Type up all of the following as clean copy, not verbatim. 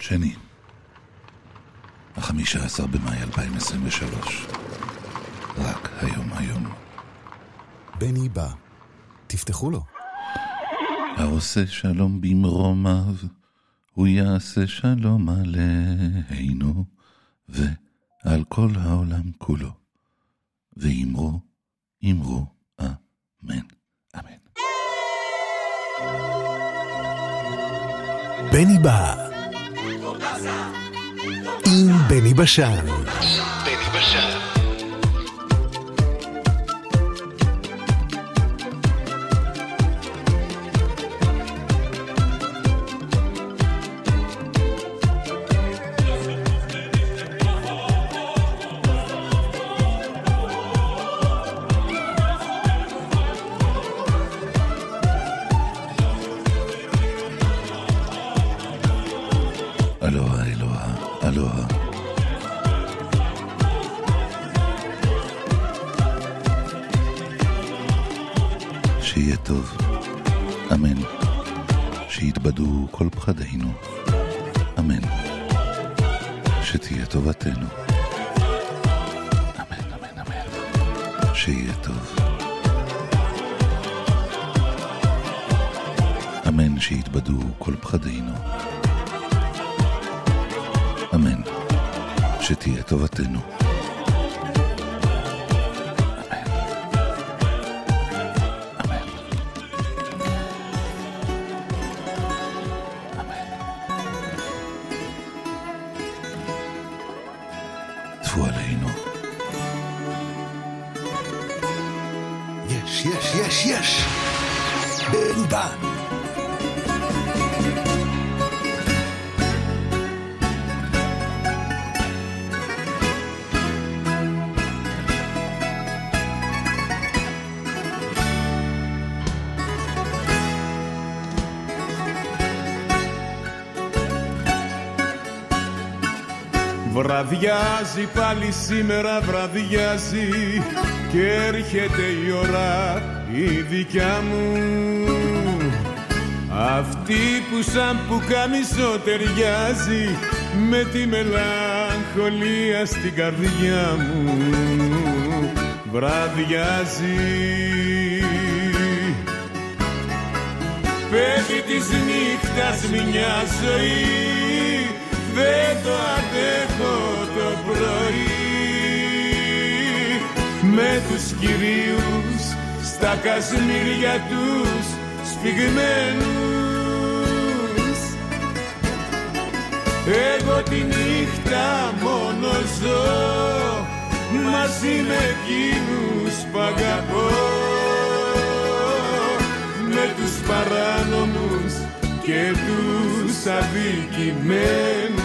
שני, 15 במאי 2023. רק היום. בני בא, תפתחו לו. העושה שלום במרומיו, הוא יעשה שלום עלינו ועל כל העולם כולו. ואמרו, אמן. אמן. בני בא עם בני בשן. אלוהה. שיהיה טוב, אמן. שיתבדו כל פחדינו, אמן. שתהיה טובתנו, אמן. שיהיה טוב, אמן. שיתבדו כל פחדינו, אמן. שתהיה טובתנו, אמן. אמן. אמן. טפו עלינו. יש. בני בא. Βραδιάζει πάλι σήμερα, βραδιάζει και έρχεται η ώρα η δικιά μου, αυτή που σαν πουκάμισο ταιριάζει με τη μελαγχολία στην καρδιά μου. Βραδιάζει, πέφτει της νύχτας μια ζωή, δεν το αντέχω το πρωί, με τους κυρίους στα κασμίρια τους σφιγμένους. Εγώ τη νύχτα μόνο ζω μαζί με εκείνους που αγαπώ, με τους παράνομους και τους αδικημένους.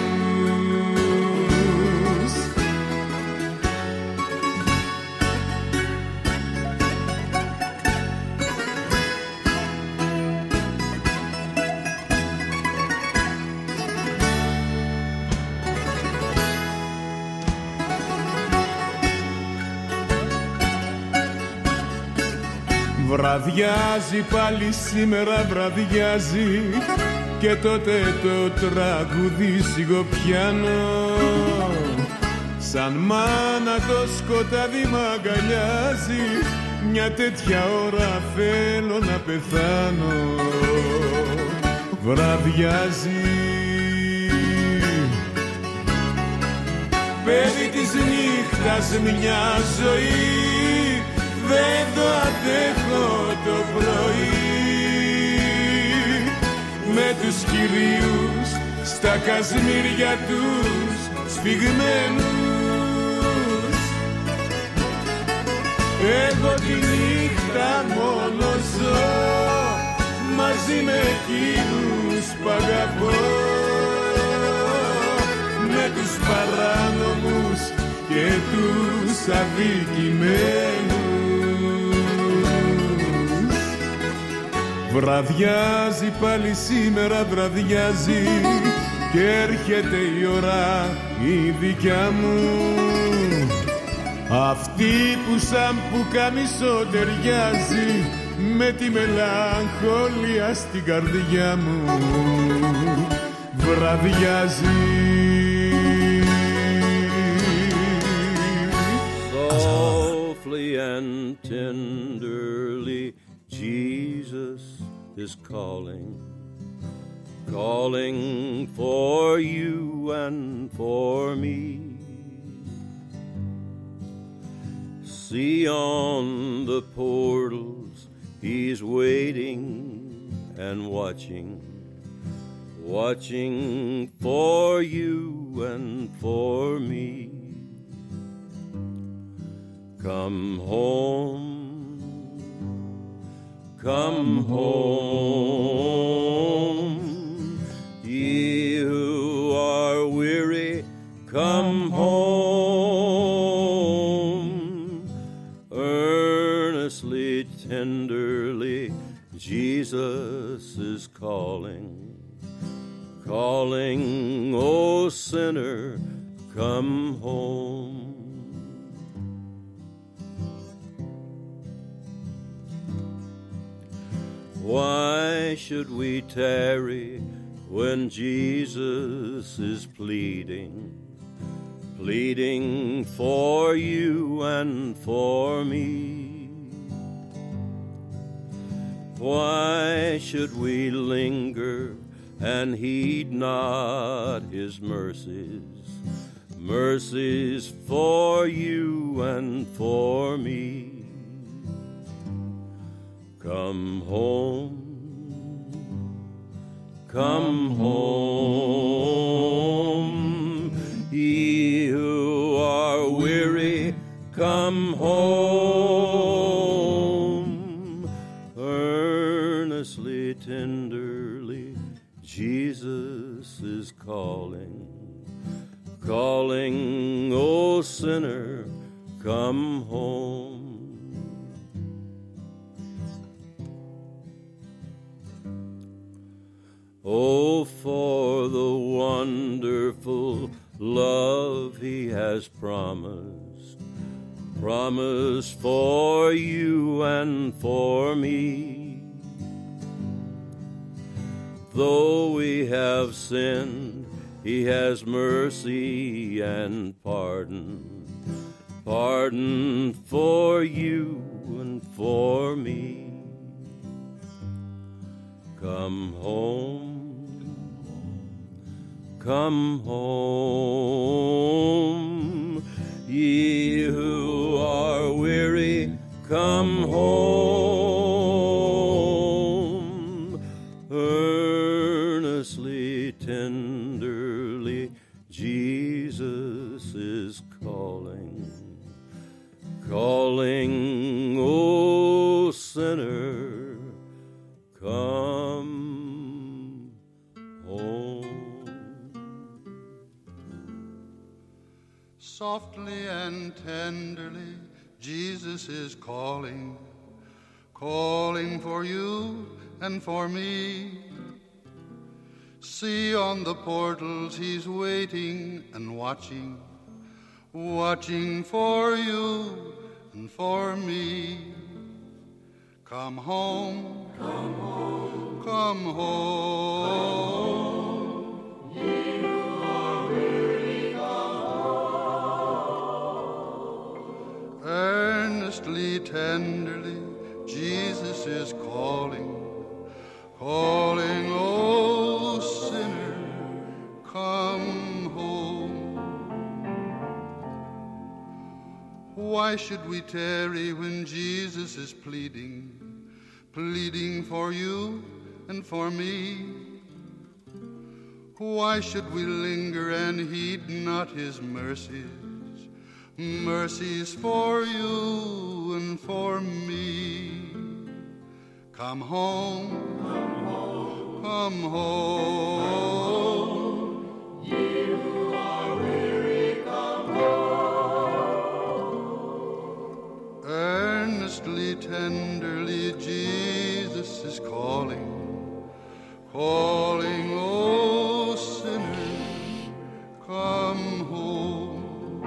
Βραδιάζει πάλι σήμερα, βραδιάζει και τότε το τραγούδι σιγοπιάνω, σαν μάνα το σκοτάδι μ' αγκαλιάζει, μια τέτοια ώρα θέλω να πεθάνω. Βραδιάζει, παιδί της νύχτας μια ζωή, δεν το αντέχω το πρωί, με τους κυρίους στα κασμίρια τους σφιγμένους. Εγώ τη νύχτα μόνο ζω μαζί με εκείνους που αγαπώ, με τους παράνομους και τους αδικημένους. Βραδιάζει πάλι σήμερα, βραδιάζει και έρχεται η ώρα η δικιά μου, αυτή που σαν πουκάμισο ταιριάζει με τη μελαγχολία στην καρδιά μου. μεραδιάζει. Softly and tenderly Jesus is calling, calling for you and for me. See on the portals, he's waiting and watching, watching for you and for me. Come home, come home, ye who are weary, come home. Earnestly, tenderly, Jesus is calling, calling, O sinner, come home. Why should we tarry when Jesus is pleading, pleading for you and for me? Why should we linger and heed not his mercies, mercies for you and for me? Come home, come home, ye who are weary, come home. Earnestly, tenderly, Jesus is calling, calling, O sinner, come home. Oh, for the wonderful love he has promised, promised for you and for me. Though we have sinned, he has mercy and pardon, pardon for you and for me. Come home, come home, ye who are weary, come home. Earnestly, tenderly, Jesus is calling, calling, O sinner, come home. Softly and tenderly, Jesus is calling, calling for you and for me. See on the portals he's waiting and watching, watching for you and for me. Come home, come home, come home, ye who are weary, come home. Earnestly, tenderly, Jesus is calling, calling, oh sinner, come home. Why should we tarry when Jesus is pleading, pleading for you and for me? Why should we linger and heed not his mercies, mercies for you and for me? Come home, come home, come home, ye who are weary, come home. Earnestly, tenderly, Jesus is calling, calling, oh sinner, come home.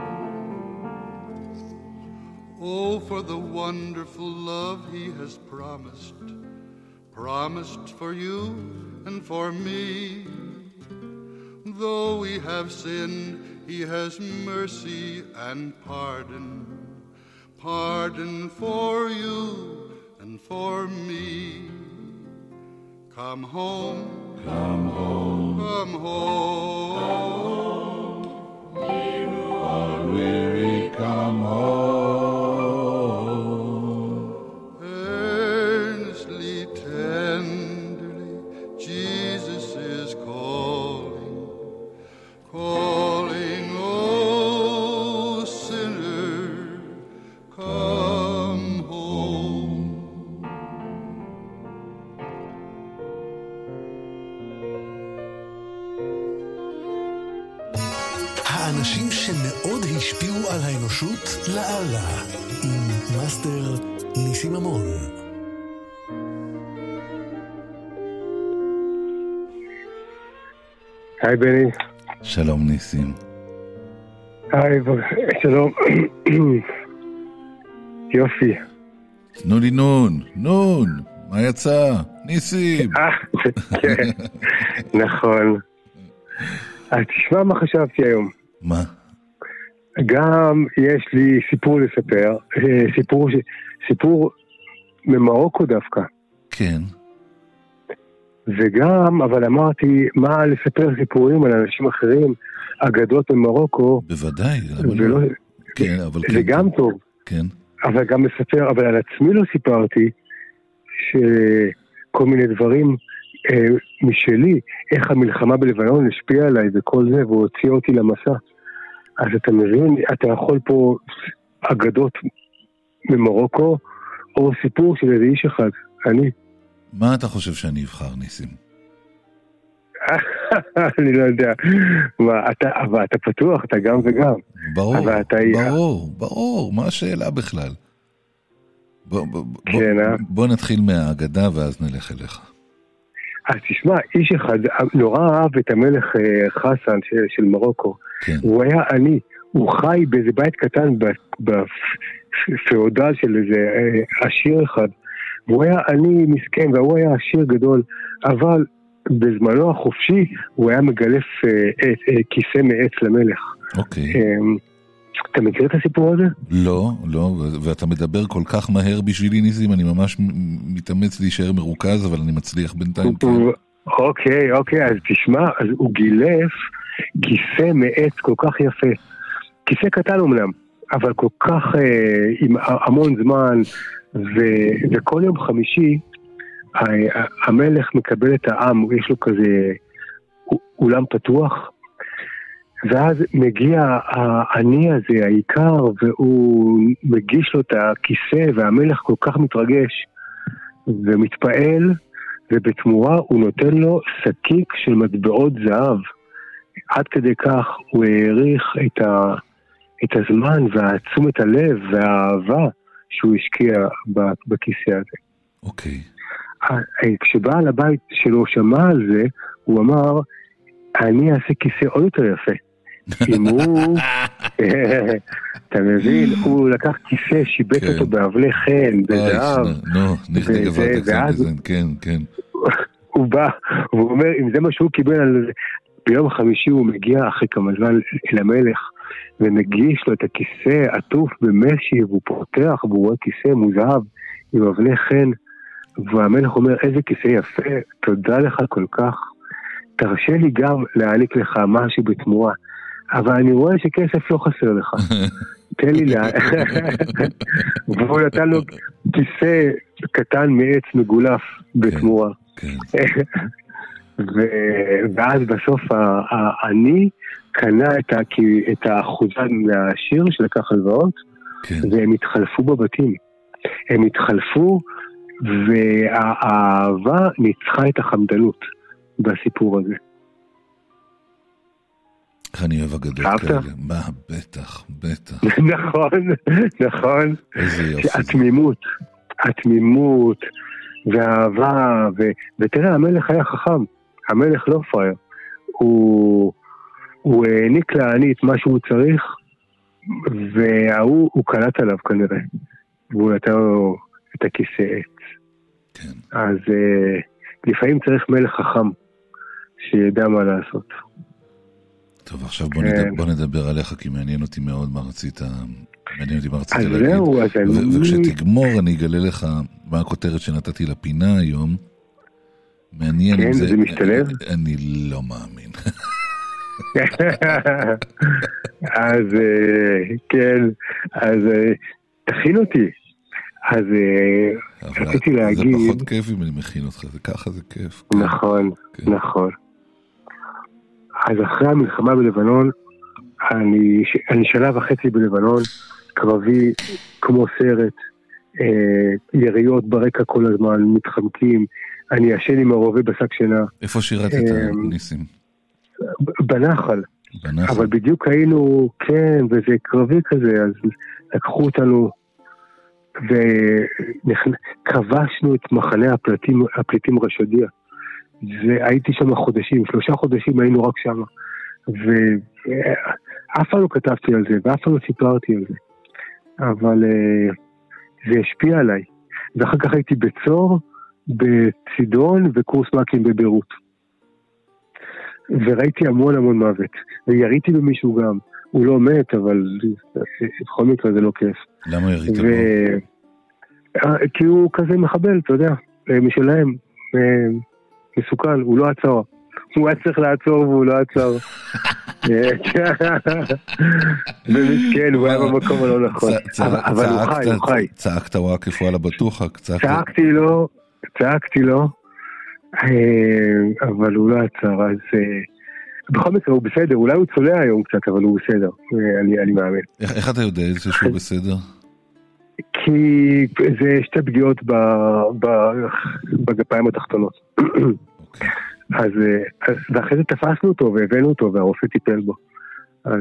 Oh, for the wonderful love he has promised, promised for you and for me. Though we have sinned, he has mercy and pardon. Pardon for you and for me. Come home, come home, come home. You who are weary, come home. Earnestly, tenderly, Jesus is calling, calling, oh sinner, come home. האנשים שמאוד השפיעו על האנושות לאללה, עם מאסטר ניסים ממון. היי בני. שלום ניסים. היי, שלום. יופי. תנו לי נון, מה יצא? ניסים. כן, נכון. אז תשמע מה חשבתי היום. מה? גם יש לי סיפור לספר, סיפור ממרוקו דווקא. כן. וגם, אבל אמרתי, מה לספר סיפורים על אנשים אחרים, אגדות ממרוקו. בוודאי. ולא, כן, אבל זה כן. גם טוב. כן. אבל גם לספר, אבל על עצמי לא סיפרתי, שכל מיני דברים משלי, איך המלחמה בלבנון השפיעה עליי וכל זה, והוא הוציא אותי למסע. אז אתה מבין, אתה יכול פה אגדות ממרוקו, או סיפור של איזה איש אחד, אני. מה אתה חושב שאני אבחר, ניסים? אני לא יודע. אבל אתה פתוח, אתה גם וגם. ברור, מה השאלה בכלל? כן, בוא נתחיל מהאגדה ואז נלך אליך. אז תשמע, איש אחד נורא אהב את המלך חסן של מרוקו. כן. הוא היה עני, הוא חי באיזה בית קטן בפאודל של איזה עשיר אחד. והוא היה עני מסכן, והוא היה עשיר גדול, אבל בזמנו החופשי הוא היה מגלף כיסא מעץ למלך. אוקיי. אתה מכיר את הסיפור הזה? לא, ואתה מדבר כל כך מהר בשבילי ניסים, אני ממש מתאמץ להישאר מרוכז, אבל אני מצליח בינתיים. אוקיי, אז תשמע, אז הוא גילף כיסא מעץ כל כך יפה. כיסא קטן אומנם, אבל כל כך עם המון זמן, וכל יום חמישי המלך מקבל את העם, יש לו כזה אולם פתוח, ואז מגיע העני הזה, העיקר, והוא מגיש לו את הכיסא, והמלך כל כך מתרגש ומתפעל, ובתמורה הוא נותן לו שקיק של מטבעות זהב. עד כדי כך הוא העריך את הזמן והתשומת הלב והאהבה שהוא השקיע בכיסא הזה. אוקיי. כשבעל הבית שלו שמע על זה, הוא אמר, אני אעשה כיסא עוד יותר יפה. אם הוא, אתה מבין, הוא לקח כיסא, שיבט אותו באבלי חן, בזהב. כן. הוא בא, והוא אומר, אם זה מה שהוא קיבל על זה, ביום חמישי הוא מגיע אחרי כמה זמן אל המלך, ומגיש לו את הכיסא עטוף במשי, והוא פותח, והוא רואה כיסא מוזהב, עם אבני חן, והמלך אומר, איזה כיסא יפה, תודה לך כל כך, תרשה לי גם להעניק לך משהו בתמורה, אבל אני רואה שכסף לא חסר לך, תן לי והוא נתן לו כיסא קטן מעץ מגולף בתמורה. ואז בסוף אני קנה את האחוזן מהשיר שלקח הלוואות, והם התחלפו בבתים. הם התחלפו, והאהבה ניצחה את החמדנות בסיפור הזה. איך אני אוהב אגדות כאלה. מה? בטח. נכון. איזה יופי. התמימות והאהבה, ותראה, המלך היה חכם. המלך לא פרייר. הוא העניק לעני את מה שהוא צריך, והוא קלט עליו כנראה. והוא נתן לו את הכיסא עץ. כן. אז לפעמים צריך מלך חכם שידע מה לעשות. טוב, עכשיו בוא נדבר עליך, כי מעניין אותי מאוד מה רצית להגיד. וכשתגמור אני אגלה לך מה הכותרת שנתתי לפינה היום. מעניין. כן, זה משתלב? אני לא מאמין. אז כן, אז תכין אותי. אז רציתי להגיד... זה פחות כיף אם אני מכין אותך, זה ככה זה כיף. נכון, נכון. אז אחרי המלחמה בלבנון, אני שנה וחצי בלבנון, קרבי כמו סרט, יריות ברקע כל הזמן, מתחמקים, אני ישן עם הרובה בשק שינה. איפה שירתת, ניסים? בנחל. אבל בדיוק היינו, כן, וזה קרבי כזה, אז לקחו אותנו, וכבשנו את מחנה הפליטים רשדיה. והייתי שם חודשים, 3 חודשים היינו רק שם. ואף פעם לא כתבתי על זה, ואף פעם לא סיפרתי על זה. אבל זה השפיע עליי. ואחר כך הייתי בצור, בצידון וקורס מקים בבירות. וראיתי המון מוות. ויריתי במישהו גם. הוא לא מת, אבל בכל מקרה זה לא כיף. למה ירית בו? כי הוא כזה מחבל, אתה יודע, משלהם, מסוכן, הוא לא עצר. הוא היה צריך לעצור והוא לא עצר. ומסכן, הוא היה במקום הלא נכון. אבל הוא חי. צעקת וואקף וואלה בטוחה? צעקתי לו, אבל הוא לא עצר, אז בכל מקרה הוא בסדר, אולי הוא צולע היום קצת, אבל הוא בסדר, אני מאמין. איך אתה יודע את זה שהוא בסדר? כי זה 2 פגיעות בגפיים התחתונות. אז ואחרי זה תפסנו אותו והבאנו אותו והרופא טיפל בו. אז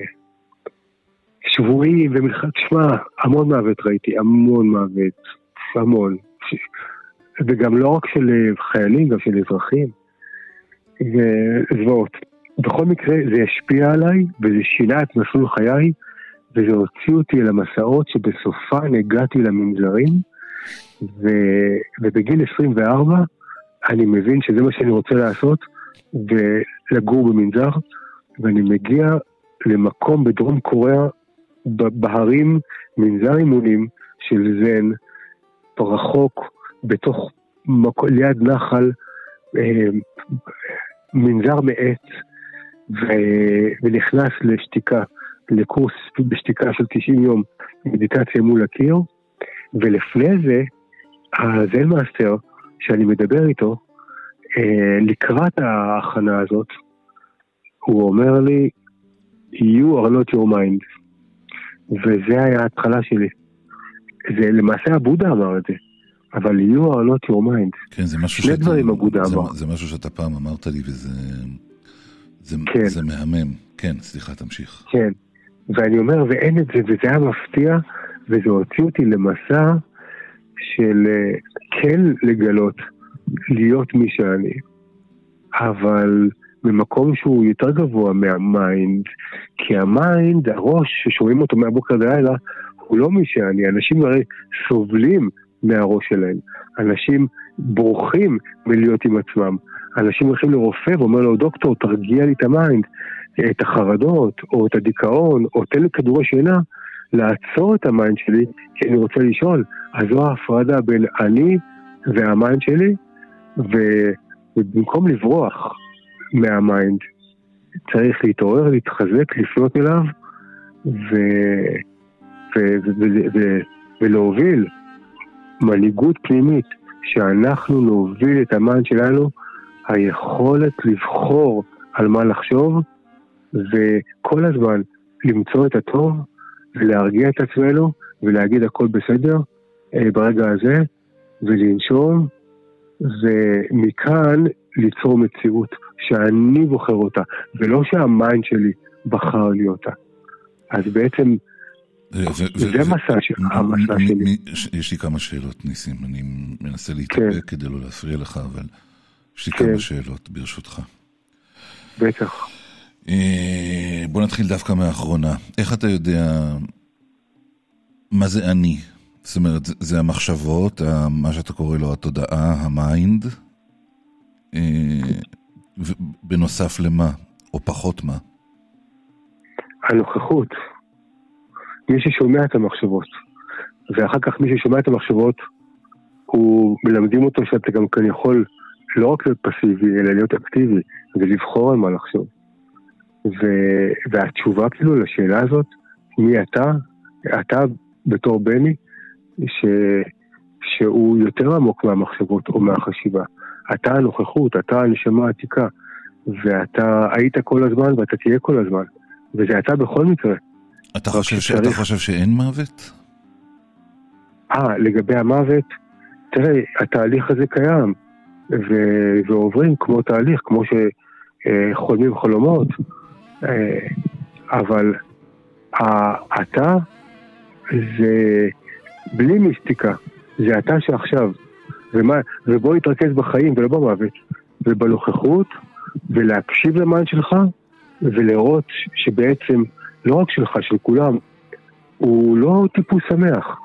שבועים ומלחץ, תשמע, המון מוות ראיתי, המון מוות, המון. וגם לא רק של חיילים, גם של אזרחים. וזוועות. בכל מקרה זה השפיע עליי וזה שינה את מסלול חיי, וזה הוציא אותי אל המסעות שבסופן הגעתי למנזרים, ובגיל 24 אני מבין שזה מה שאני רוצה לעשות, ולגור במנזר, ואני מגיע למקום בדרום קוריאה, בהרים, מנזר אימונים של זן, רחוק, בתוך ליד נחל, מנזר מעץ, ונכנס לשתיקה, לקורס בשתיקה של 90 יום, מדיטציה מול הקיר, ולפני זה, הזן מאסטר, שאני מדבר איתו, לקראת ההכנה הזאת, הוא אומר לי, you are not your mind. וזה היה ההתחלה שלי. זה למעשה הבודה אמר את זה, אבל you are not your mind. כן, זה משהו שני דברים הבודה אמר. זה משהו שאתה פעם אמרת לי, וזה מהמם. כן, סליחה, תמשיך. כן, ואני אומר, ואין את זה, וזה היה מפתיע, וזה הוציא אותי למסע של כן לגלות, להיות מי שאני, אבל ממקום שהוא יותר גבוה מהמיינד, כי המיינד, הראש ששומעים אותו מהבוקר לילה, הוא לא מי שאני. אנשים הרי סובלים מהראש שלהם, אנשים בורחים מלהיות עם עצמם, אנשים הולכים לרופא ואומר לו, דוקטור, תרגיע לי את המיינד, את החרדות, או את הדיכאון, או תן לי כדורי שינה, לעצור את המיינד שלי, כי אני רוצה לשאול. אז זו ההפרדה בין אני והמיינד שלי, ובמקום לברוח מהמיינד, צריך להתעורר, להתחזק, לפנות אליו, ולהוביל מנהיגות פנימית, שאנחנו נוביל את המיינד שלנו, היכולת לבחור על מה לחשוב, וכל הזמן למצוא את הטוב, ולהרגיע את עצמנו, ולהגיד הכל בסדר, ברגע הזה, ולנשום, ומכאן ליצור מציאות, שאני בוחר אותה, ולא שהמיינד שלי בחר לי אותה. אז בעצם, זה המסע שלי. יש לי כמה שאלות, ניסים, אני מנסה להתאפק כדי לא להפריע לך, אבל יש לי כמה שאלות ברשותך. בטח. בוא נתחיל דווקא מהאחרונה. איך אתה יודע מה זה אני? זאת אומרת, זה המחשבות, מה שאתה קורא לו התודעה, המיינד, בנוסף למה, או פחות מה? הנוכחות. מי ששומע את המחשבות, ואחר כך מי ששומע את המחשבות, הוא מלמדים אותו שאתה גם כאן יכול לא רק להיות פסיבי, אלא להיות אקטיבי, ולבחור על מה לחשוב. והתשובה כאילו לשאלה הזאת, מי אתה? אתה בתור בני, שהוא יותר עמוק מהמחשבות או מהחשיבה. אתה הנוכחות, אתה הנשמה העתיקה, ואתה היית כל הזמן ואתה תהיה כל הזמן, וזה אתה בכל מקרה. אתה חושב שאין מוות? לגבי המוות, תראה, התהליך הזה קיים, ועוברים כמו תהליך, כמו שחולמים חלומות, אבל אתה זה בלי מיסטיקה, זה אתה שעכשיו, ובוא נתרכז בחיים ולא במוות, ובנוכחות, ולהקשיב למן שלך, ולראות שבעצם לא רק שלך, של כולם, הוא לא טיפוס שמח,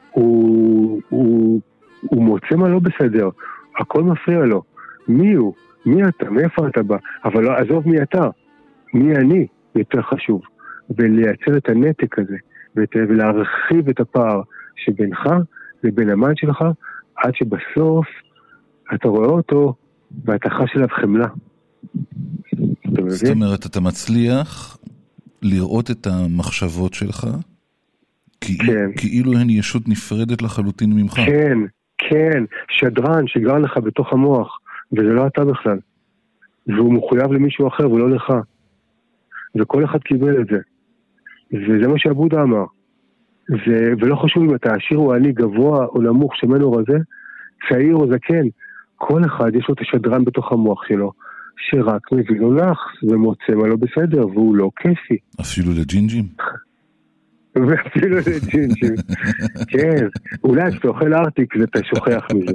הוא מוצא מה לא בסדר, הכל מפריע לו. מי הוא? מי אתה? מאיפה אתה בא? אבל לא, עזוב מי אתה, מי אני יותר חשוב, ולייצר את הנתק הזה, ולהרחיב את הפער שבינך לבין המן שלך, עד שבסוף אתה רואה אותו ואתה חש אליו חמלה. זאת אומרת, אתה מצליח לראות את המחשבות שלך, כאילו הן ישות נפרדת לחלוטין ממך. כן, כן, שדרן שגר לך בתוך המוח, וזה לא אתה בכלל. והוא מחויב למישהו אחר ולא לך. וכל אחד קיבל את זה. וזה מה שהבודה אמר. ולא חשוב אם אתה עשיר או עני, גבוה או נמוך, שמן או רזה, צעיר או זקן, כל אחד יש לו את השדרן בתוך המוח שלו, שרק מביא לו לחץ ומוצא מה לא בסדר, והוא לא כיפי. אפילו לג'ינג'ים? ואפילו לג'ינג'ים. כן, אולי כשאתה אוכל ארטיק אתה שוכח מזה.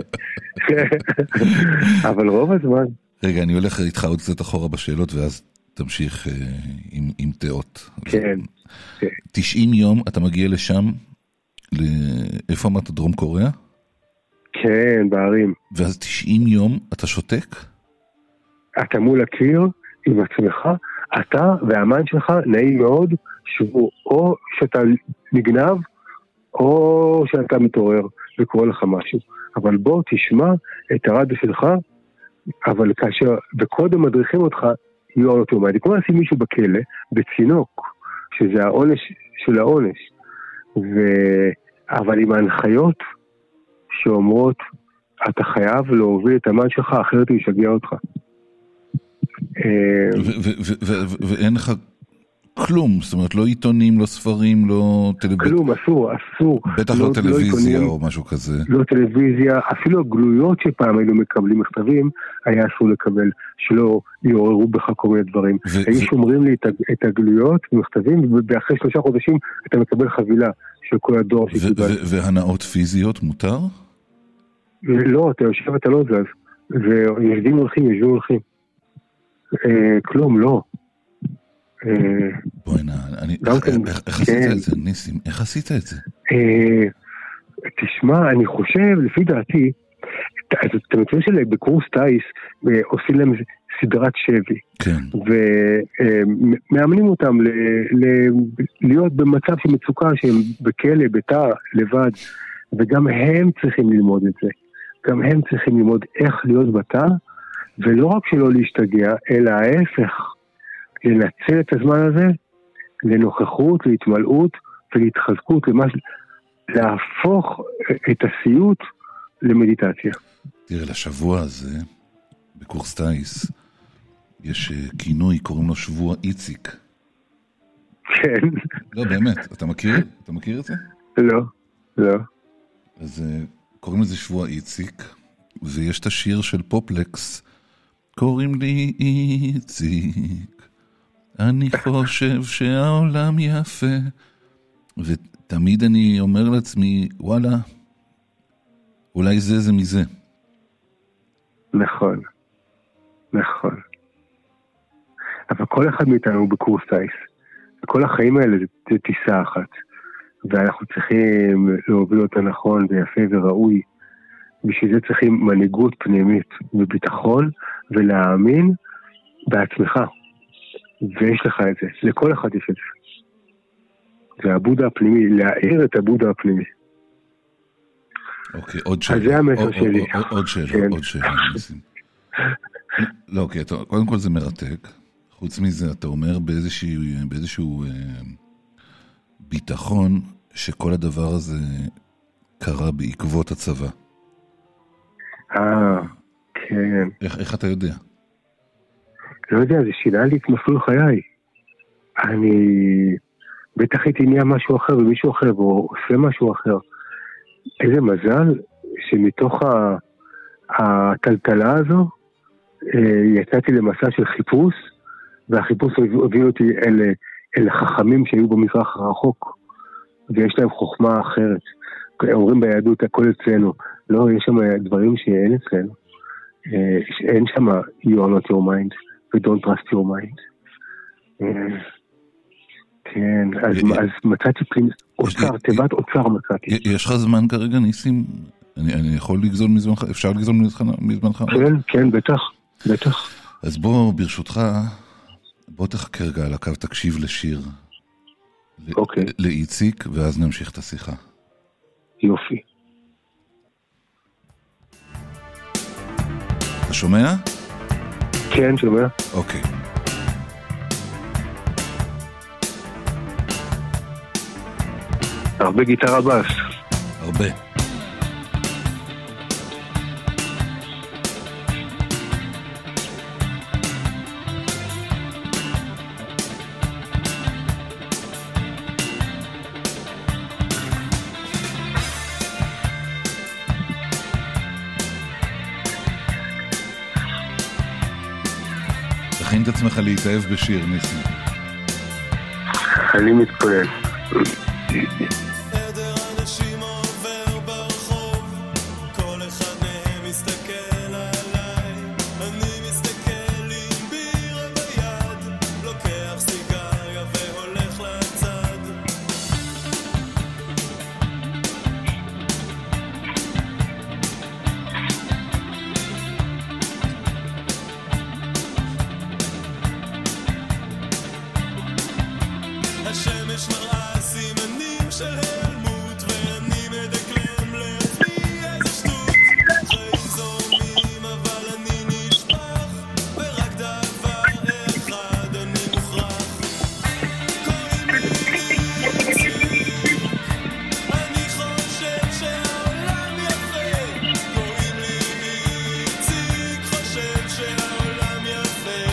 אבל רוב הזמן. רגע, אני הולך איתך עוד קצת אחורה בשאלות, ואז תמשיך עם תאות. כן. 90 יום אתה מגיע לשם, איפה אמרת, דרום קוריאה? כן, בערים. ואז 90 יום אתה שותק? אתה מול הקיר עם עצמך, אתה והאמן שלך נעים מאוד, שבו או שאתה נגנב, או שאתה מתעורר וקורא לך משהו. אבל בוא תשמע את הרדיו שלך, אבל כאשר, וקודם מדריכים אותך, יהיו אוטומטי. כמו לשים מישהו בכלא, בצינוק, שזה העונש של העונש. אבל עם ההנחיות שאומרות, אתה חייב להוביל את המן שלך, אחרת הוא ישגע אותך. ואין לך כלום, זאת אומרת, לא עיתונים, לא ספרים, לא טלוויזיה. כלום, אסור. בטח לא טלוויזיה או משהו כזה. לא טלוויזיה, אפילו הגלויות שפעם היינו מקבלים מכתבים, היה אסור לקבל, שלא יעוררו בך כל מיני דברים. היו שומרים לי את הגלויות ומכתבים, ואחרי 3 חודשים אתה מקבל חבילה של כל הדור שקיבל. והנאות פיזיות מותר? לא, אתה יושב ואתה לא זז. ויושבים הולכים. כלום, לא. בואי איך עשית את זה, ניסים? איך עשית את זה? תשמע, אני חושב, לפי דעתי, אתם מכירים שבקורס טייס עושים להם סדרת שבי. כן. ומאמנים אותם להיות במצב של מצוקה, שהם בכלא, בתא, לבד, וגם הם צריכים ללמוד את זה. גם הם צריכים ללמוד איך להיות בתא, ולא רק שלא להשתגע, אלא ההפך, לנצל את הזמן הזה לנוכחות, להתמלאות ולהתחזקות, להפוך את הסיוט למדיטציה. תראה, לשבוע הזה, בקורס טייס, יש כינוי, קוראים לו שבוע איציק. כן. לא, באמת, אתה מכיר את זה? לא. אז קוראים לזה שבוע איציק, ויש את השיר של פופלקס, קוראים לי איציק, אני חושב שהעולם יפה, ותמיד אני אומר לעצמי, וואלה, אולי זה מזה. נכון. אבל כל אחד מאיתנו הוא בקורס טייס, וכל החיים האלה זה טיסה אחת, ואנחנו צריכים להוביל אותה נכון ויפה וראוי, בשביל זה צריכים מנהיגות פנימית וביטחון, ולהאמין בעצמך. ויש לך את זה, לכל אחד יש את זה. זה הבודה הפנימי, להעיר את הבודה הפנימי. אוקיי, עוד שאלה. אז זה המסר שלי. עוד שאלה, עוד שאלה. לא, אוקיי, קודם כל זה מרתק. חוץ מזה, אתה אומר באיזשהו ביטחון שכל הדבר הזה קרה בעקבות הצבא. כן. איך אתה יודע? לא יודע, זה שינה לי את מסלול חיי. אני בטח הייתי נהיה משהו אחר ומישהו אחר, או עושה משהו אחר. איזה מזל שמתוך הטלטלה הזו יצאתי למסע של חיפוש, והחיפוש הביא אותי אל החכמים שהיו במזרח הרחוק, ויש להם חוכמה אחרת. אומרים ביהדות הכל אצלנו. לא, יש שם דברים שאין אצלנו. אין שם you are not your mind we don't trust your mind. כן, אז מצאתי אוצר, תיבת אוצר מצאתי. יש לך זמן כרגע, ניסים? אני יכול לגזול מזמנך? אפשר לגזול מזמנך? כן, בטח. אז בוא, ברשותך, בוא תחכה רגע על הקו, תקשיב לשיר. אוקיי. לאיציק, ואז נמשיך את השיחה. יופי. אתה שומע? כן, שומע. אוקיי. הרבה גיטרה בס. הרבה. תכין את עצמך להתאהב בשיר, ניסים. אני מתכונן. עדר אנשים עובר ברחוב, כל אחד מהם מסתכל עליי, אני מסתכל עם בירה ביד, לוקח סיגריה והולך לצד. השמש מראה סימנים של העלמות, ואני מדקלם לעצמי איזה שטות. חיים זורמים אבל אני נשפך, ורק דבר אחד אני מוכרח. קוראים לי איציק, אני חושב שהעולם יפה. קוראים לי איציק, חושב שהעולם יפה.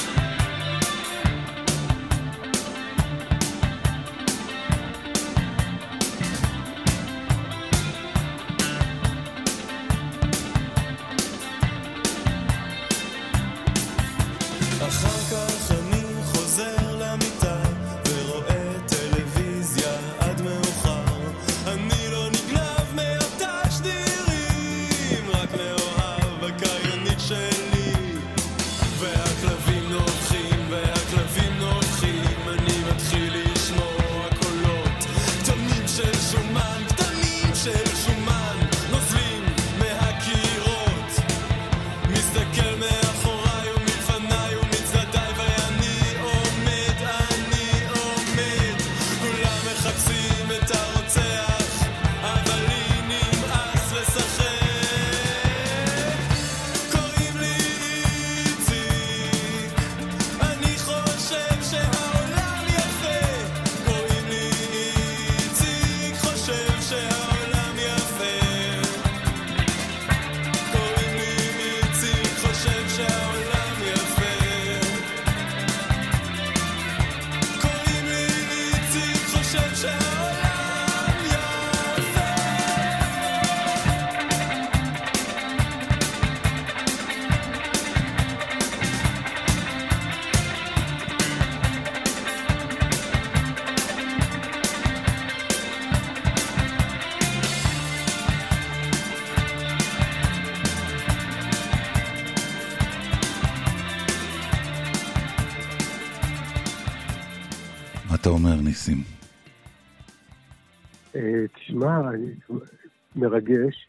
אחר כך אני חוזר למיטה ורואה טלוויזיה עד מאוחר. אני לא נגנב מאותה שדירים, רק מאוהב הקריינית שלי. והכלבים נובחים והכלבים נובחים, אני מתחיל לשמוע קולות קטנים של שומן, קטנים של שומן נוזלים מהקירות. מסתכל מאחוריי ומלפניי ומצדדיי, ואני עומד, כולם מחפשים את הרוצח, אבל לי נמאס לשחק. קוראים לי איציק, אני חושב שהעולם יפה. קוראים לי איציק, חושב שהעולם יפה. קוראים לי איציק, חושב שהעולם יפה. קוראים לי איציק, חושב שהעולם יפה. מה אתה אומר, ניסים? תשמע, מרגש,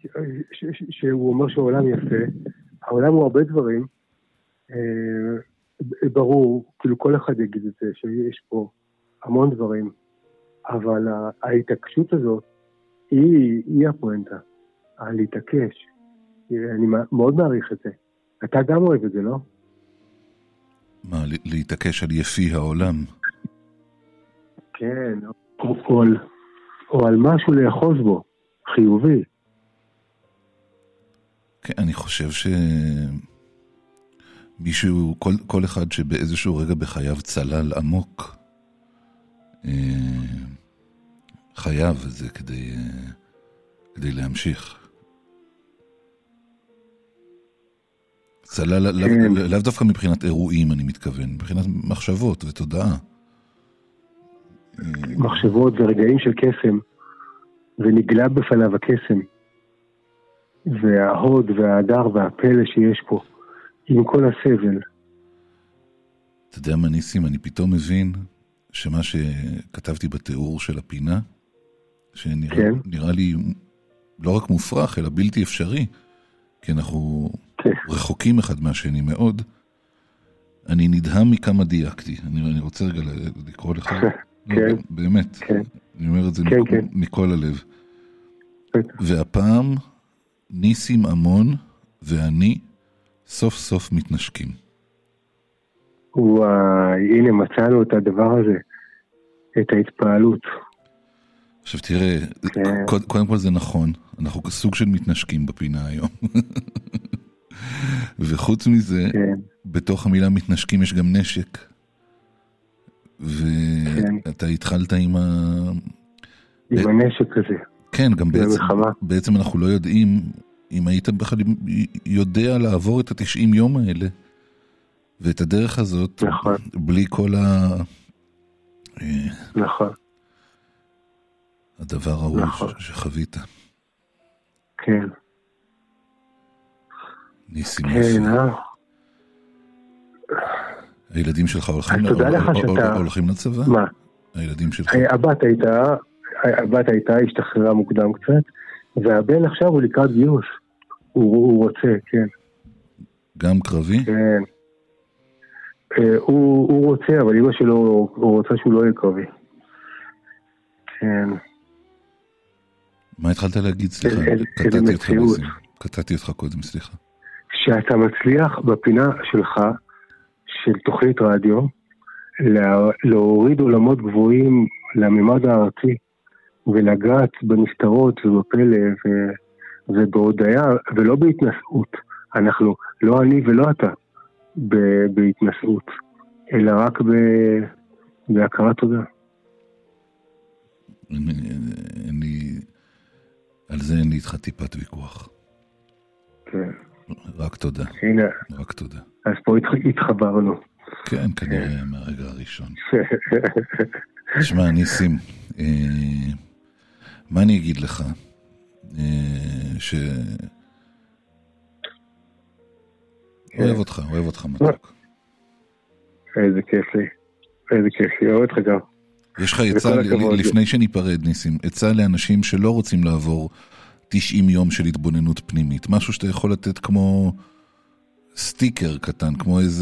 שהוא אומר שהעולם יפה. העולם הוא הרבה דברים, ברור, כאילו כל אחד יגיד את זה, שיש פה המון דברים, אבל ההתעקשות הזאת היא הפואנטה, להתעקש. אני מאוד מעריך את זה. אתה גם אוהב את זה, לא? מה, להתעקש על יפי העולם? כן, או על משהו לאחוז בו, חיובי. כן, אני חושב מישהו, כל אחד שבאיזשהו רגע בחייו צלל עמוק, חייב את זה כדי להמשיך. צלל לאו דווקא מבחינת אירועים, אני מתכוון, מבחינת מחשבות ותודעה. מחשבות ורגעים של קסם, ונגלה בפניו הקסם, וההוד וההדר והפלא שיש פה, עם כל הסבל. אתה יודע מה ניסים, אני פתאום מבין שמה שכתבתי בתיאור של הפינה, שנראה לי לא רק מופרך, אלא בלתי אפשרי, כי אנחנו רחוקים אחד מהשני מאוד, אני נדהם מכמה דייקתי. אני רוצה רגע לקרוא לך, באמת, אני אומר את זה מכל הלב. והפעם ניסים המון ואני סוף סוף מתנשקים. וואי, הנה מצאנו את הדבר הזה, את ההתפעלות. עכשיו תראה, קודם כל זה נכון, אנחנו סוג של מתנשקים בפינה היום. וחוץ מזה, בתוך המילה מתנשקים יש גם נשק. ואתה התחלת עם הנשק הזה. כן, גם בעצם אנחנו לא יודעים, אם היית בכלל יודע לעבור את 90 יום האלה, ואת הדרך הזאת, בלי כל נכון. הדבר ההוא שחווית. כן. ניסים הילדים שלך הולכים לצבא? מה? הילדים שלך? הבת הייתה, השתחררה מוקדם קצת, והבן עכשיו הוא לקראת גיוס. הוא רוצה, כן. גם קרבי? כן. הוא רוצה, אבל אמא שלו, הוא רוצה שהוא לא יהיה קרבי. כן. מה התחלת להגיד? סליחה, קטעתי אותך קודם, סליחה. שאתה מצליח בפינה שלך, של תוכנית רדיו, להוריד עולמות גבוהים לממד הארצי, ולגעת בנסתרות ובפלא ובהודעה, ולא בהתנשאות. אנחנו, לא אני ולא אתה, בהתנשאות, אלא רק בהכרת תודה. על זה אין לי איתך טיפת ויכוח. כן. רק תודה. הנה. רק תודה. אז פה התחברנו. כן, כנראה מהרגע הראשון. תשמע, ניסים, מה אני אגיד לך? אוהב אותך מתוק. איזה כיף לי, אוהב אותך גם. יש לך עצה, לפני שניפרד ניסים, עצה לאנשים שלא רוצים לעבור 90 יום של התבוננות פנימית, משהו שאתה יכול לתת כמו סטיקר קטן, כמו איזה,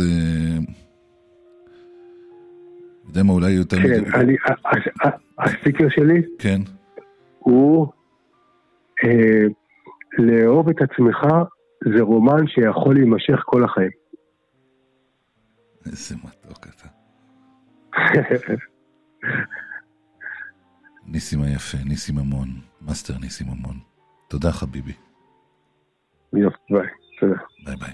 יודע מה, אולי יותר... כן, הסטיקר שלי, כן, הוא לאהוב את עצמך, זה רומן שיכול להימשך כל החיים. איזה מתוק אתה. ניסים היפה, ניסים המון, מאסטר ניסים המון. תודה חביבי. יופי, ביי. תודה. ביי ביי.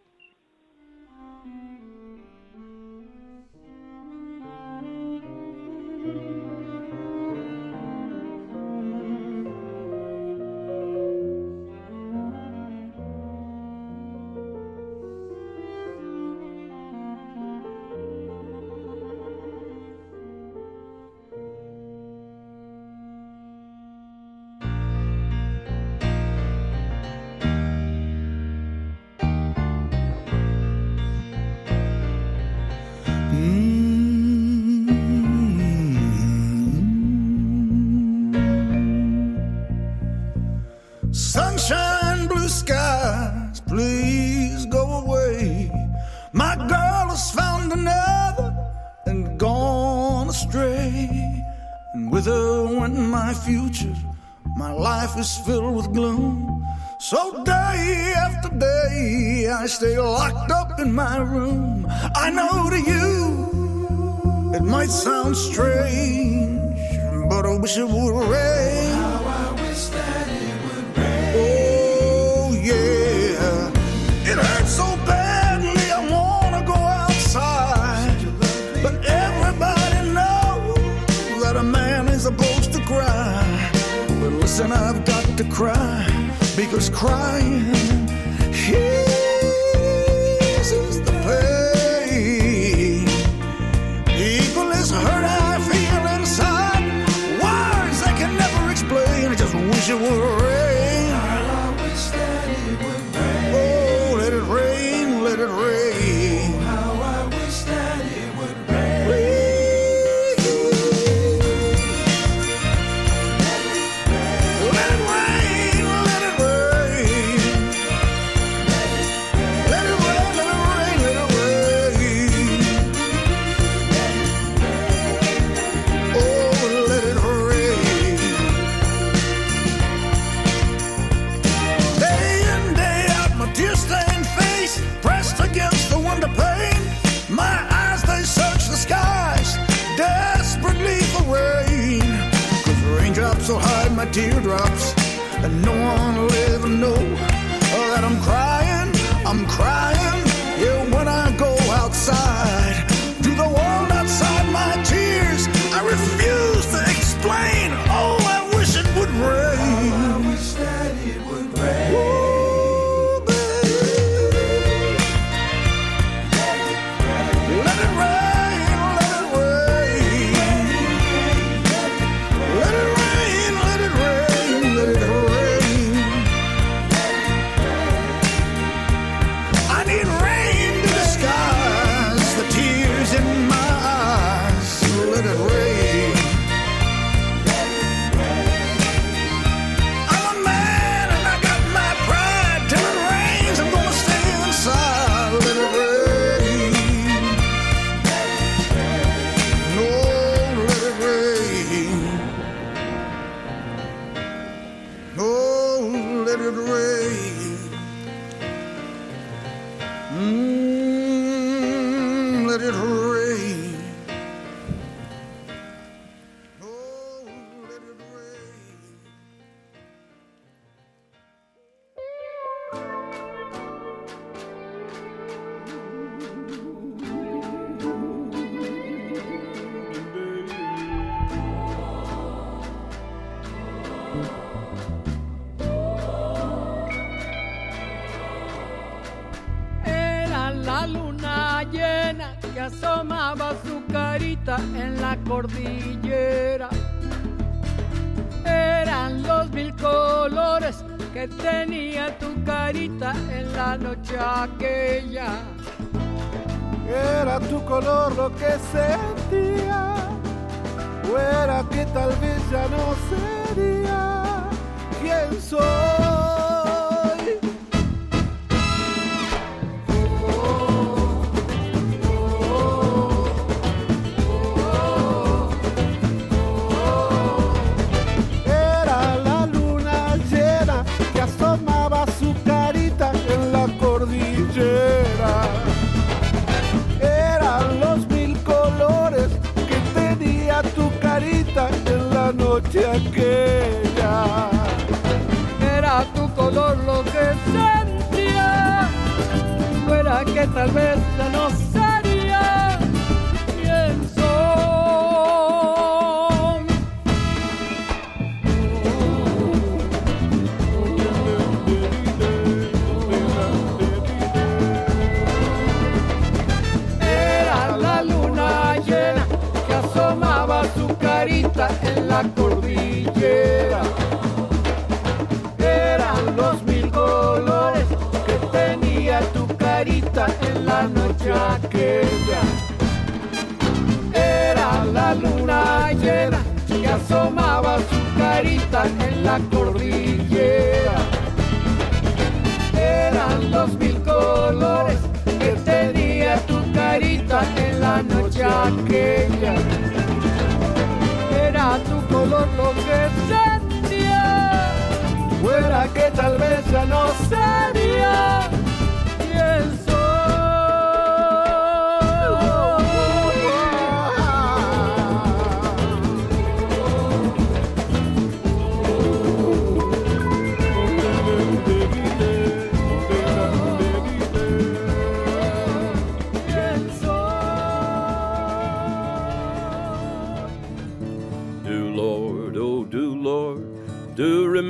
Sunshine, blue skies, please go away. My girl has found found another and gone astray. And with her went my future. My life is filled with gloom. So day after day I stay locked up in my room. I know to you it might sound strange, but I wish it would rain. How I wish that it would rain. Oh yeah, it hurts so badly I wanna go outside, but everybody knows that a man is supposed to cry. But listen, I've got to cry, because crying eases the pain. Equal as hurt I feel inside, words I can never explain. I just wish it would rain. I wish that it would rain. Oh, let it rain, let it rain. How I wish that it would rain. Rain. So hide my teardrops, and no one will ever know that I'm crying, yeah, when I go outside. To the world outside my tears, I refuse to explain. Oh, I wish it would rain. I wish that it would rain. Oh, baby. Let it rain, let it rain. Let it rain. Let it rain. I need rain to disguise the tears in my eyes. Let it rain. I'm a man and I got my pride. Till it rains, I'm gonna stay inside. Let it rain. No, let it rain. Oh, let it rain. Let it rain. Oh, let it rain. Era la luna llena que asomaba su carita en la cordillera. Eran los mil colores que tenía tu carita en la noche aquella. Era tu color lo que sentía, o era que tal vez ya no sería quien soy. Era la luna llena que asomaba su carita en la cordillera. Eran los mil colores que tenía tu carita en la noche aquella. Era tu color lo que sentía, fuera que tal vez ya no sería quien soy. Era la luna llena que asomaba su carita en la cordillera. Eran los mil colores que tenía tu carita en la noche aquella. Era la luna llena que asomaba su carita en la cordillera. Eran los mil colores que tenía tu carita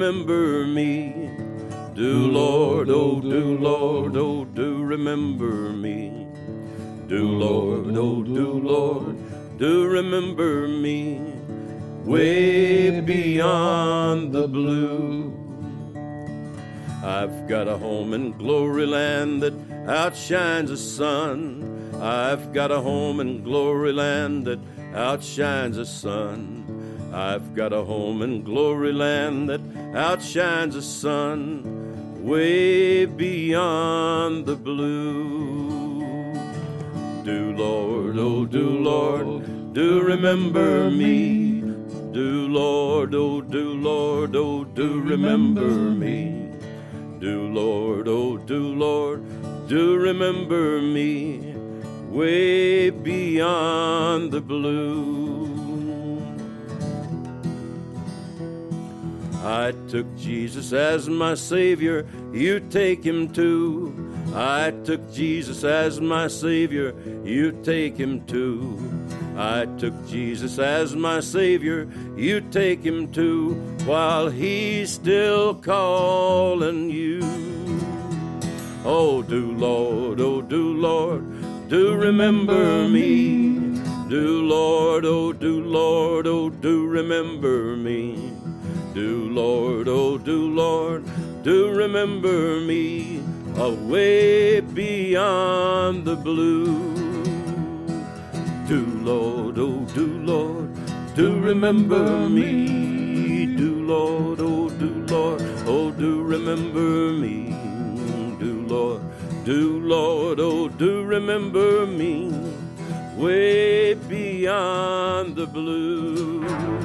remember me. Do Lord, oh do Lord, oh do remember me. Do Lord, oh do Lord, do remember me. Way beyond the blue. I've got a home in glory land that outshines the sun. I've got a home in glory land that outshines the sun. I've got a home in glory land that outshines the sun. Way beyond the blue. Do Lord, oh do Lord, do remember me. Do Lord, oh do Lord, oh do remember me. Do Lord, oh do Lord, do remember me. Way beyond the blue. I took Jesus as my Savior, you take him too. I took Jesus as my Savior, you take him too. I took Jesus as my Savior, you take him too, while he's still calling you. Oh, do Lord, oh, do Lord, do remember me. Do Lord, oh, do Lord, oh, do remember me. Do Lord, oh, do Lord, do remember me. Away beyond the blue. Do Lord, oh, do Lord, do remember me. Do Lord, oh, do Lord, oh, do remember me. Do Lord, oh, do remember me. Way beyond the blue.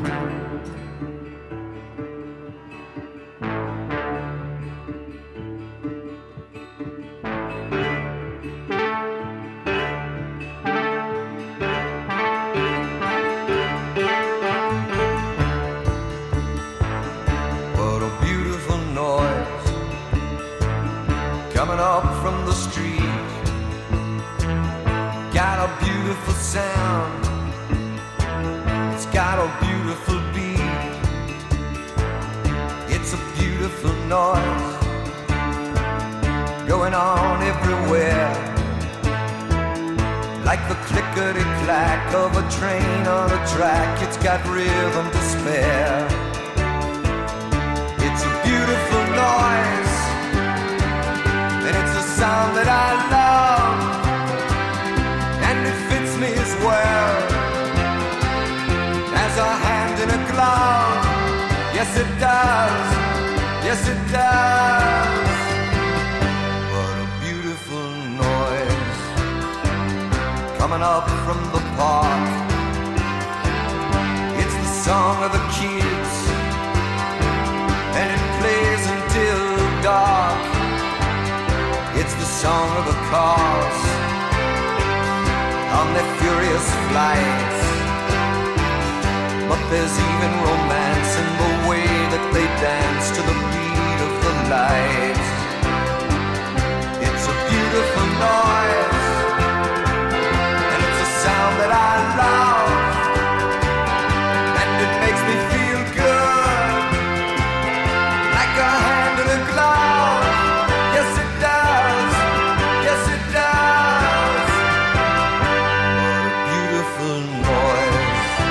Coming up from the street, got a beautiful sound, it's got a beautiful beat, it's a beautiful noise going on everywhere, like the clickety-clack of a train on a track. It's got rhythm to spare. It's a beautiful noise, and it's a sound that I love, and it fits me as well as a hand in a glove. Yes it does, yes it does. What a beautiful noise coming up from the park. It's the song of the kids, and it plays until dark. It's the song of the cars on their furious flights. But there's even romance in the way that they dance to the beat of the lights. It's a beautiful noise, and it's a sound that I love, and it makes me feel good, like a hand in a glove. Yes it does, yes it does. What a beautiful noise.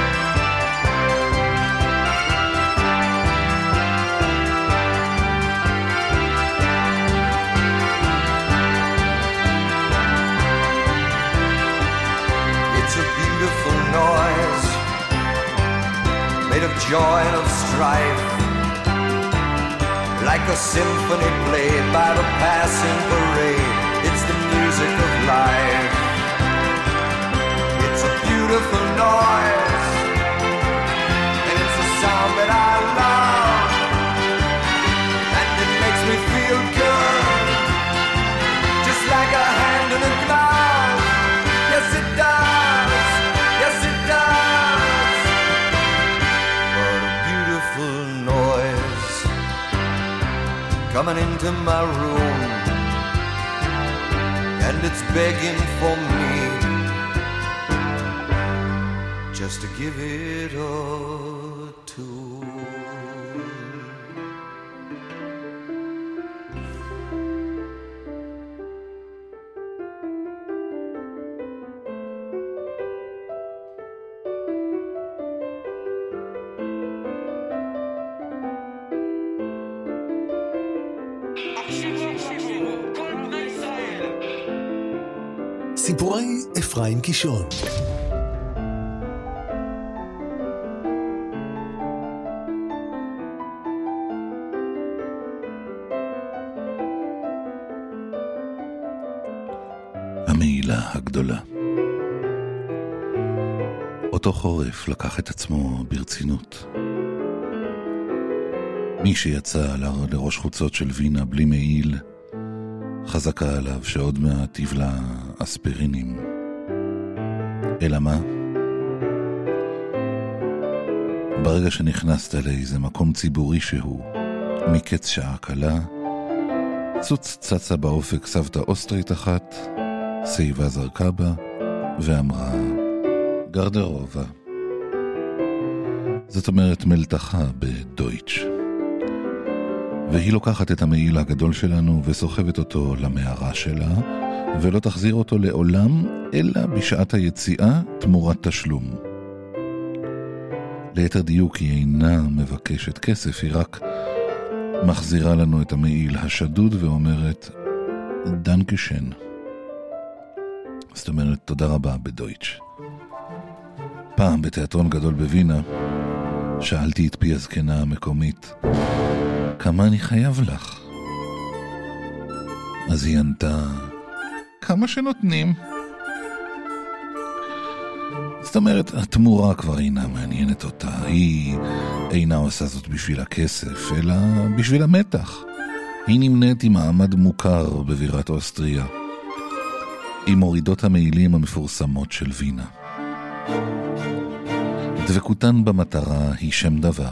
It's a beautiful noise, made of joy and of strife, like a symphony played by the passing parade. It's the music of life. It's a beautiful noise, and it's a sound that I love, and it makes me feel good, just like a hand in a glove. Yes it does, yes it does. What a beautiful noise coming into my room, and it's begging for me just to give it a tune. סיפורי אפרים קישון. המעילה הגדולה. אותו חורף לקח את עצמו ברצינות. מי שיצא לראש חוצות של וינה בלי מעיל, חזקה עליו שעוד מעט יבלע אספרינים. אלא מה? ברגע שנכנסת לאיזה מקום ציבורי שהוא, מקץ שעה קלה, צצה באופק סבתא אוסטרית אחת, סייבה זרקה בה ואמרה גרדרובה. זאת אומרת מלתחה בדויטש. והיא לוקחת את המעיל הגדול שלנו וסוחבת אותו למערה שלה, ולא תחזיר אותו לעולם, אלא בשעת היציאה תמורת תשלום. ליתר דיוק היא אינה מבקשת כסף, היא רק מחזירה לנו את המעיל השדוד ואומרת דנקשן. זאת אומרת תודה רבה בדויטש. פעם בתיאטרון גדול בווינה שאלתי את פי הזקנה המקומית כמה אני חייב לך? אז היא ענתה כמה שנותנים. זאת אומרת התמורה כבר אינה מעניינת אותה, היא אינה עושה זאת בשביל הכסף אלא בשביל המתח. היא נמנית עם מעמד מוכר בבירת אוסטריה, עם מורידות המעילים המפורסמות של וינה. דבקותן במטרה היא שם דבר.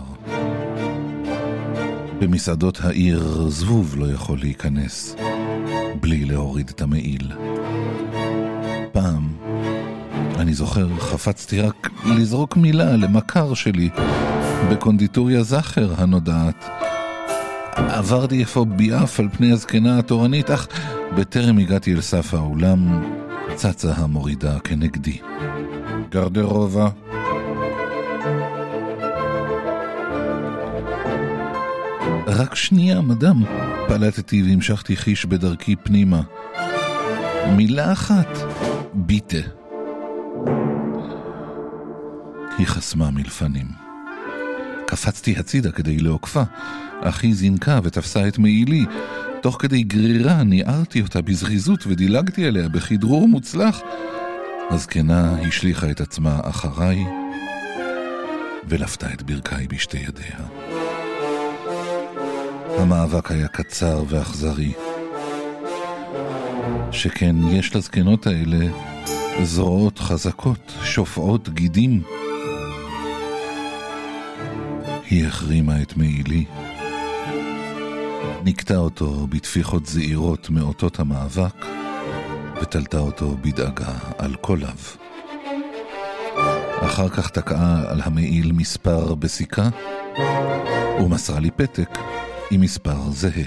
במסעדות העיר זבוב לא יכול להיכנס בלי להוריד את המעיל. פעם, אני זוכר, חפצתי רק לזרוק מילה למכר שלי בקונדיטוריה זכר הנודעת. עברתי איפה ביעף על פני הזקנה התורנית, אך בטרם הגעתי אל סף האולם, צצה המורידה כנגדי. גרדרובה. רק שנייה, מדם. פלטתי והמשכתי חיש בדרכי פנימה. מילה אחת. ביטה. היא חסמה מלפנים. קפצתי הצידה כדי לעוקפה. אחי זינקה ותפסה את מעילי. תוך כדי גרירה ניערתי אותה בזריזות ודילגתי עליה בכדרור מוצלח. הזקנה השליחה את עצמה אחריי ולפתה את ברכיי בשתי ידיה. המאבק היה קצר ואכזרי. שכן יש לזקנות האלה זרועות חזקות, שופעות גידים. היא החרימה את מעילי, נקטה אותו בתפיחות זעירות מאותות המאבק, ותלתה אותו בדאגה על קוליו. אחר כך תקעה על המעיל מספר בסיכה, ומסרה לי פתק עם מספר זהה.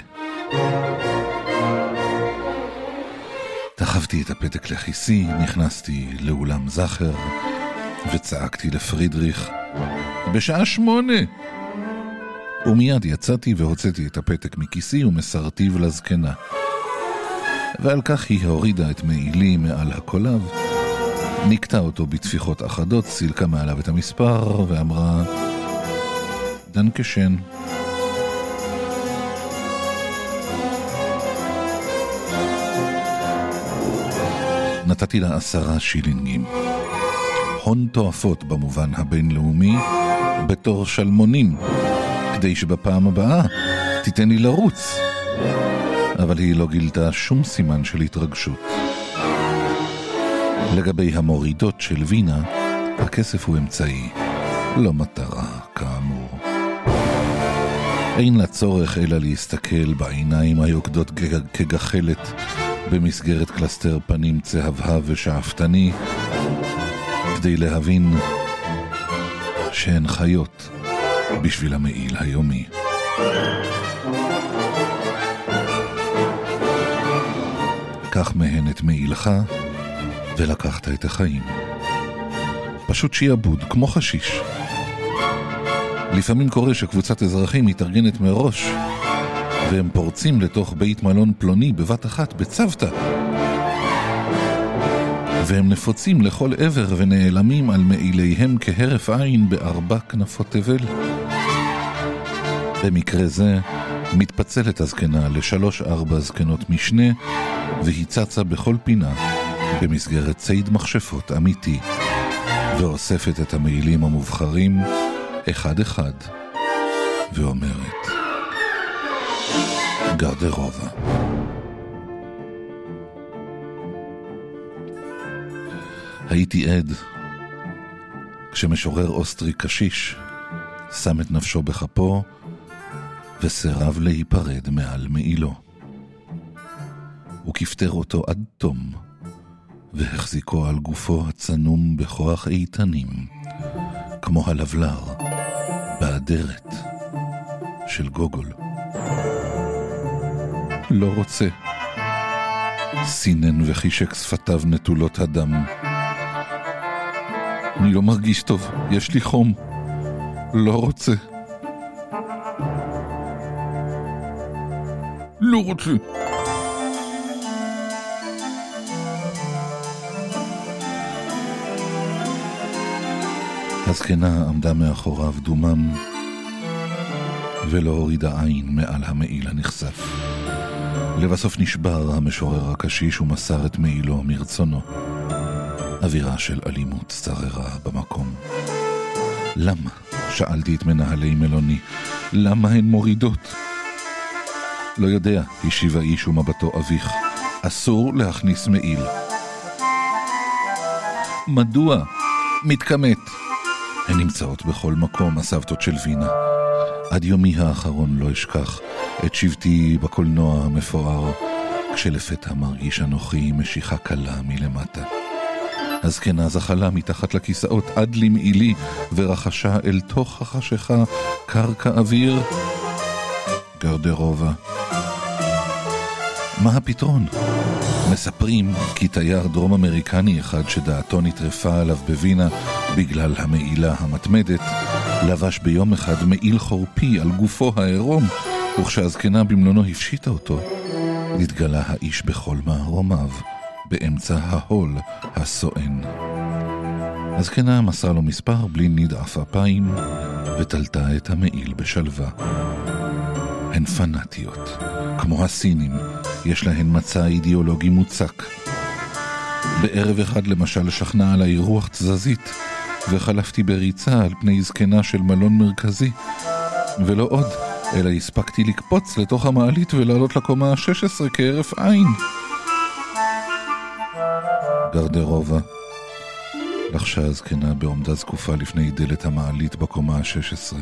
דחפתי את הפתק לכיסי, נכנסתי לאולם זכר, וצעקתי לפרידריך, בשעה 8! ומיד יצאתי והוצאתי את הפתק מכיסי ומסרתיו לזקנה. ועל כך היא הורידה את מעילי מעל הקולב, נקטה אותו בתפיחות אחדות, סילקה מעליו את המספר ואמרה דנקשן. נתתי לה 10 שילינגים. הון תועפות במובן הבינלאומי, בתור שלמונים, כדי שבפעם הבאה תיתן לי לרוץ. אבל היא לא גילתה שום סימן של התרגשות. לגבי המורידות של וינה, הכסף הוא אמצעי, לא מטרה, כאמור. אין לה צורך אלא להסתכל בעיניים היוקדות כגחלת במסגרת קלסטר פנים צהבהב ושאפתני, כדי להבין שהן חיות בשביל המעיל היומי. קח מהן את מעילך ולקחת את החיים. פשוט שיעבוד, כמו חשיש. לפעמים קורה שקבוצת אזרחים מתארגנת מראש והם פורצים לתוך בית מלון פלוני בבת אחת בצוותא. והם נפוצים לכל עבר ונעלמים על מעיליהם כהרף עין בארבע כנפות תבל. במקרה זה מתפצלת הזקנה ל3-4 זקנות משנה, והיא צצה בכל פינה במסגרת ציד מכשפות אמיתי, ואוספת את המעילים המובחרים אחד אחד ואומרת גרדרובה. הייתי עד כשמשורר אוסטרי קשיש שם את נפשו בכפו וסירב להיפרד מעל מעילו. הוא כפתר אותו עד תום והחזיקו על גופו הצנום בכוח איתנים, כמו הלבלר באדרת של גוגול. לא רוצה. סינן וחישק שפתיו נטולות הדם. אני לא מרגיש טוב, יש לי חום. לא רוצה. לא רוצה. הזקנה עמדה מאחוריו דומם ולא הורידה עין מעל המעיל הנחשף. לבסוף נשבר המשורר הקשיש ומסר את מעילו מרצונו. אווירה של אלימות שררה במקום. למה? שאלתי את מנהלי מלוני. למה הן מורידות? לא יודע, השיב האיש ומבטו אביך. אסור להכניס מעיל. מדוע? מתכמת. הן נמצאות בכל מקום, הסבתות של וינה. עד יומי האחרון לא אשכח את שבטי בקולנוע המפואר, כשלפתע מרגיש אנוכי משיכה קלה מלמטה. הזקנה זחלה מתחת לכיסאות עד למעילי ורחשה אל תוך החשיכה קרקע אוויר. גרדרובה. מה הפתרון? מספרים כי תייר דרום אמריקני אחד שדעתו נטרפה עליו בווינה בגלל המעילה המתמדת, לבש ביום אחד מעיל חורפי על גופו העירום, וכשהזקנה במלונו הפשיטה אותו, התגלה האיש בכל מערומיו, באמצע ההול הסואן. הזקנה מסרה לו מספר בלי נדעף אפיים, ותלתה את המעיל בשלווה. הן פנאטיות, כמו הסינים, יש להן מצע אידיאולוגי מוצק. בערב אחד למשל שכנע עליי רוח תזזית, וחלפתי בריצה על פני זקנה של מלון מרכזי, ולא עוד, אלא הספקתי לקפוץ לתוך המעלית ולעלות לקומה ה-16 כהרף עין. גרדרובה. לחשה הזקנה בעומדה זקופה לפני דלת המעלית בקומה ה-16.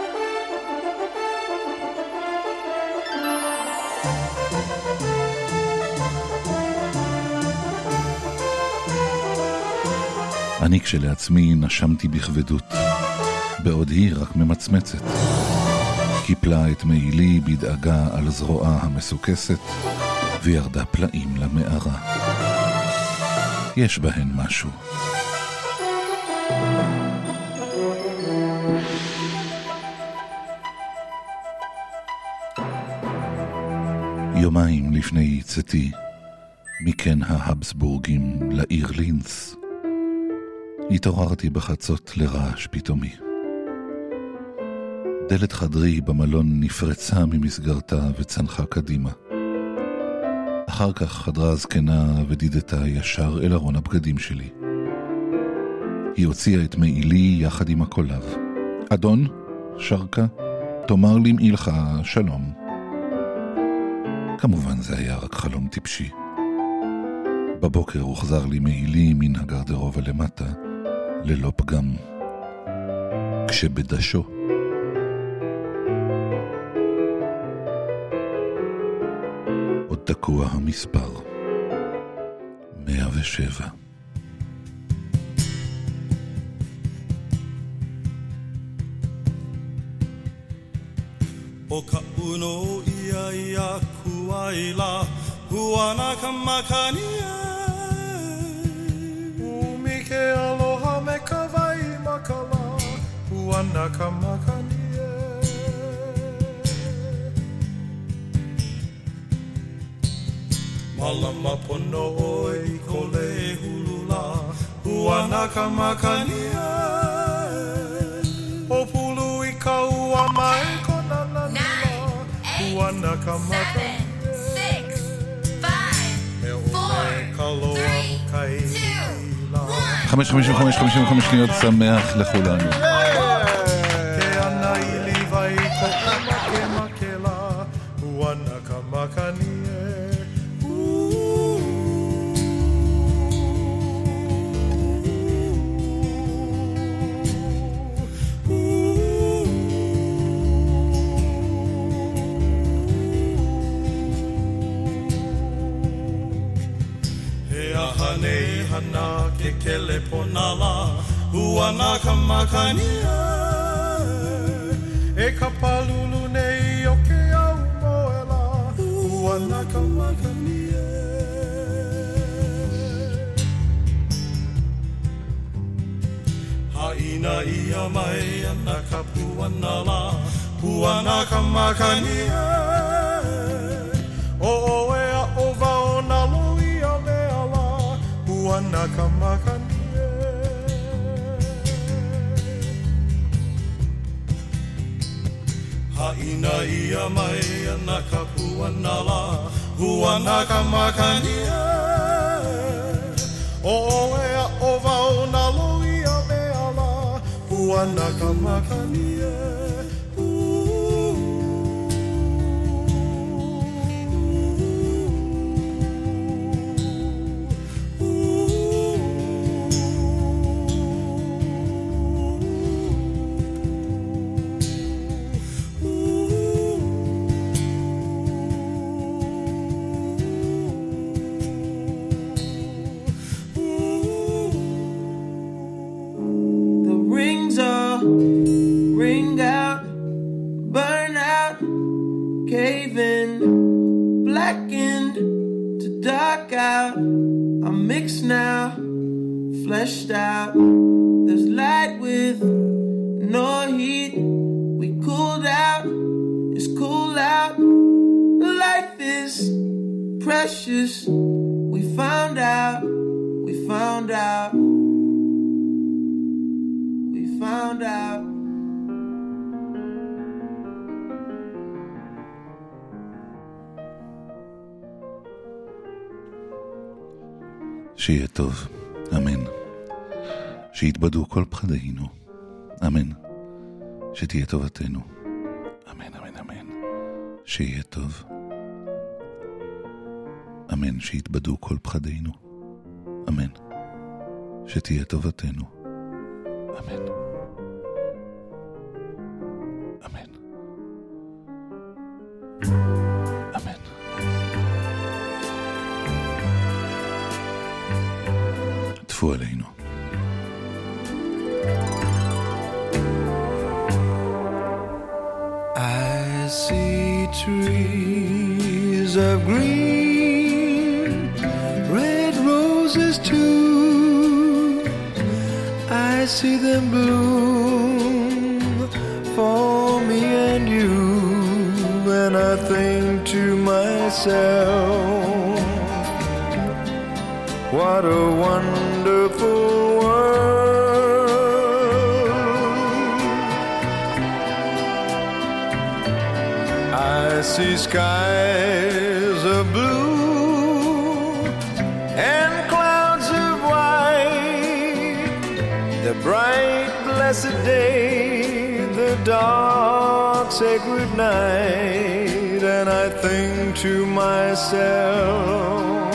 אני כשלעצמי נשמתי בכבדות, בעוד היא רק ממצמצת. קיפלה את מעילי בדאגה על זרועה המסוכסת, וירדה פלאים למערה. יש בהן משהו. יומיים לפני צאתי, מכן ההבסבורגים לעיר לינץ, התעוררתי בחצות לרעש פתאומי. דלת חדרי במלון נפרצה ממסגרתה וצנחה קדימה. אחר כך חדרה הזקנה ודידתה ישר אל ארון הבגדים שלי. היא הוציאה את מעילי יחד עם הקולב. אדון, שרקה, תאמר לי מעילך שלום. כמובן זה היה רק חלום טיפשי. בבוקר הוחזר לי מעילי מן הגרדרובה למטה, ללא פגם. כשבדשו עוד תקוע המספר 107. O ka uno ia ia kuaila huana ka makania Umike aloha me ka vai makala huana ka makania Malama pono oi kole hulula Huanakamacania O pulu I kaua mai konana 9, 8, 7, 6, 5, 4, 3, 2, 1 55 שניות שמח לכולנו. Kele ponala Huanakamacania E kapalulu nei o ke au moela Huanakamacania Haina ia mai ana kapuanala Huanakamacania O ea o vaona luia meala Huanakamacania Haina ia mai ana kapuanala Huanakamacania O ea o vaona luia meala Huanakamacania I'm mixed now, fleshed out. There's light with no heat. We cooled out, it's cool out. Life is precious. We found out, we found out, we found out. שיהיה טוב, אמן. שיתבדו כל פחדינו, אמן. שתהיה טובתנו, אמן, אמן, אמן. שיהיה טוב, אמן. שיתבדו כל פחדינו, אמן. שתהיה טובתנו, אמן. אמן. אמן. טפו עלינו. I see trees of green, red roses too. I see them bloom for me and you, and I think to myself, what a wonderful I see skies of blue and clouds of white, the bright blessed day, the dark sacred night, and I think to myself,